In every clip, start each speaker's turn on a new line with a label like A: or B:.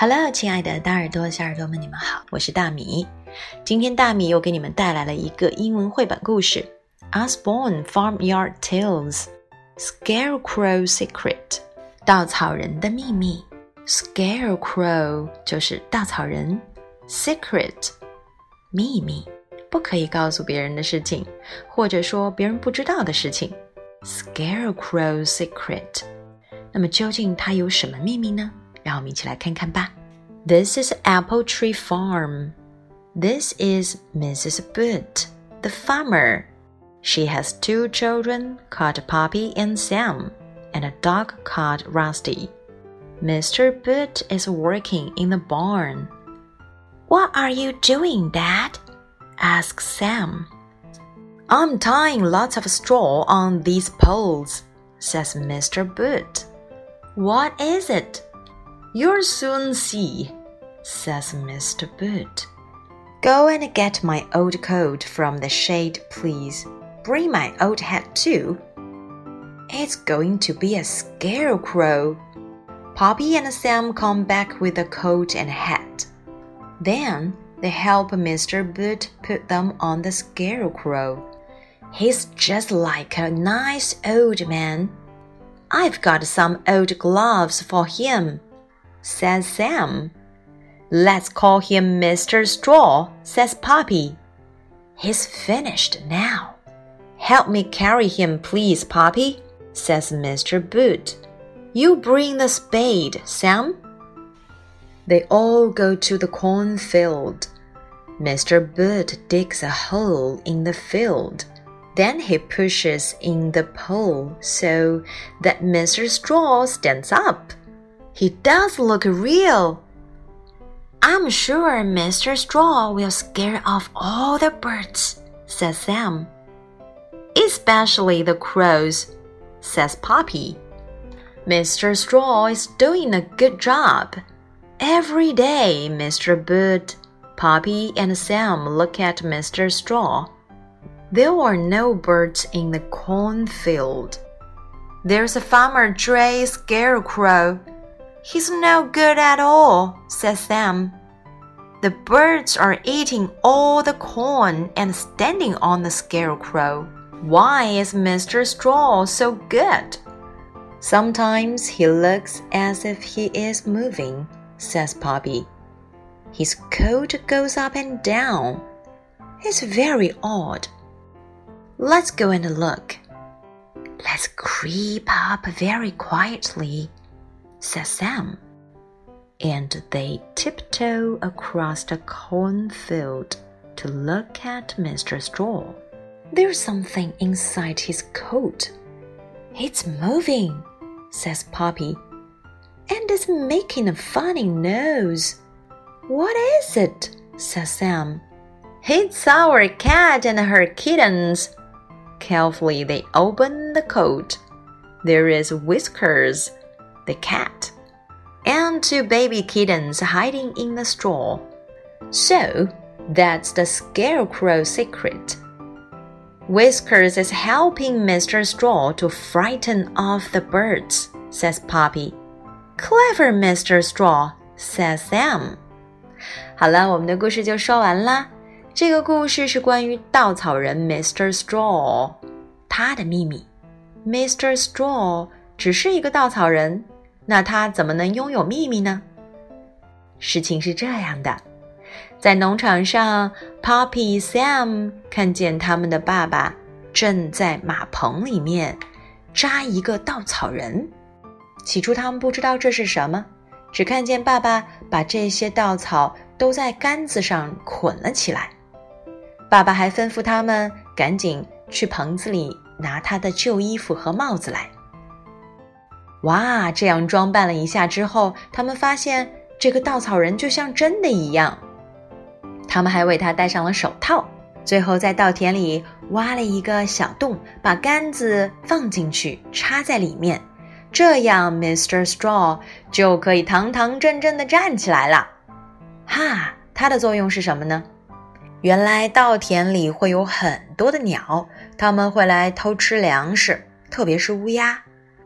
A: Hello， 亲爱的大耳朵、小耳朵们，你们好，我是大米。今天大米又给你们带来了一个英文绘本故事 Osborne Farmyard Tales Scarecrow Secret 稻草人的秘密。 Scarecrow 就是稻草人， Secret 秘密，不可以告诉别人的事情，或者说别人不知道的事情。 Scarecrow Secret， 那么究竟它有什么秘密呢？让我们一起来看看吧。 This is Apple Tree Farm. This is Mrs. Boot, the farmer. She has 2 children called Poppy and Sam, and a dog called Rusty. Mr. Boot is working in the barn. What are you doing, Dad? Asks Sam. I'm tying lots of straw on these poles, says Mr. Boot. What is it?You'll soon see, says Mr. Boot. Go and get my old coat from the shade, please. Bring my old hat too. It's going to be a scarecrow. Poppy and Sam come back with the coat and hat. Then they help Mr. Boot put them on the scarecrow. He's just like a nice old man. I've got some old gloves for him,says Sam. Let's call him Mr. Straw, says Poppy. He's finished now. Help me carry him, please, Poppy, says Mr. Boot. You bring the spade, Sam. They all go to the cornfield. Mr. Boot digs a hole in the field. Then he pushes in the pole so that Mr. Straw stands up.He does look real. I'm sure Mr. Straw will scare off all the birds, says Sam. Especially the crows, says Poppy. Mr. Straw is doing a good job. Every day, Mr. Boot, Poppy, and Sam look at Mr. Straw. There are no birds in the cornfield. There's a farmer Dray Scarecrow.He's no good at all, says Sam. The birds are eating all the corn and standing on the scarecrow. Why is Mr. Straw so good? Sometimes he looks as if he is moving, says Poppy. His coat goes up and down. It's very odd. Let's go and look. Let's creep up very quietly,says Sam. And they tiptoe across the cornfield to look at Mr. Straw. There's something inside his coat. It's moving, says Poppy. And it's making a funny nose. What is it? Says Sam. It's our cat and her kittens. Carefully they open the coat. There is Whiskers, the cat, and 2 baby kittens hiding in the straw. So, that's the Scarecrow secret. Whiskers is helping Mr. Straw to frighten off the birds, says Poppy. Clever Mr. Straw, says Sam. 好了，我们的故事就说完啦。这个故事是关于稻草人 Mr. Straw， 他的秘密。Mr. Straw 只是一个稻草人，那他怎么能拥有秘密呢？事情是这样的，在农场上 Poppy Sam 看见他们的爸爸正在马棚里面扎一个稻草人。起初他们不知道这是什么，只看见爸爸把这些稻草都在杆子上捆了起来。爸爸还吩咐他们赶紧去棚子里拿他的旧衣服和帽子来。哇，这样装扮了一下之后，他们发现这个稻草人就像真的一样。他们还为他戴上了手套，最后在稻田里挖了一个小洞，把杆子放进去，插在里面，这样 Mr. Straw 就可以堂堂正正地站起来了。哈，它的作用是什么呢？原来稻田里会有很多的鸟，它们会来偷吃粮食，特别是乌鸦。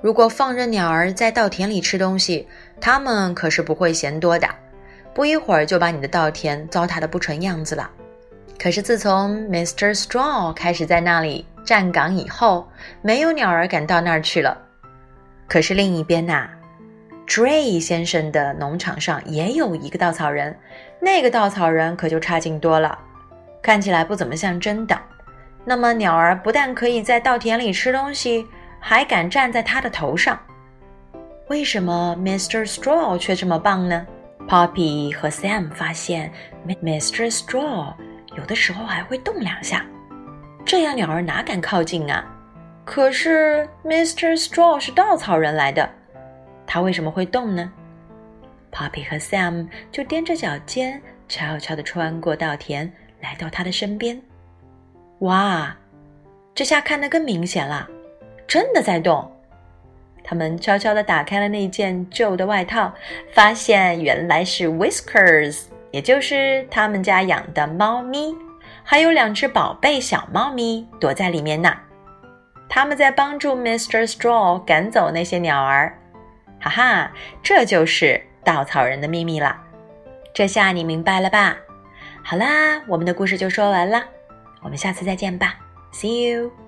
A: 如果放任鸟儿在稻田里吃东西，它们可是不会嫌多的，不一会儿就把你的稻田糟蹋得不成样子了。可是自从 Mr. Straw 开始在那里站岗以后，没有鸟儿敢到那儿去了。可是另一边Dray 先生的农场上也有一个稻草人，那个稻草人可就差劲多了，看起来不怎么像真的。那么鸟儿不但可以在稻田里吃东西，还敢站在他的头上。为什么 Mr. Straw 却这么棒呢？ Poppy 和 Sam 发现 Mr. Straw 有的时候还会动2下，这样鸟儿哪敢靠近啊？可是 Mr. Straw 是稻草人来的，他为什么会动呢？ Poppy 和 Sam 就踮着脚尖悄悄地穿过稻田，来到他的身边。哇，这下看得更明显了，真的在动。他们悄悄地打开了那件旧的外套，发现原来是 Whiskers， 也就是他们家养的猫咪，还有2只宝贝小猫咪躲在里面呢。他们在帮助 Mr. Straw 赶走那些鸟儿。哈哈，这就是稻草人的秘密了。这下你明白了吧？好啦，我们的故事就说完了，我们下次再见吧。See you!